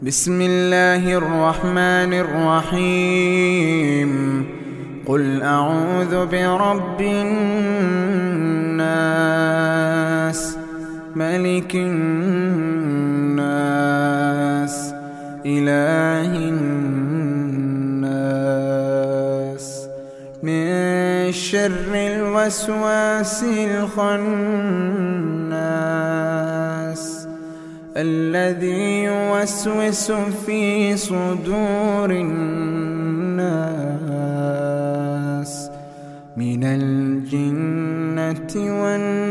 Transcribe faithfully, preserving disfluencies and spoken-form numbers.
بسم الله الرحمن الرحيم. قل أعوذ برب الناس، ملك الناس، إله الناس، من شر الوسواس الخناس، الذي يوسوس في صدور الناس من الجنة والناس.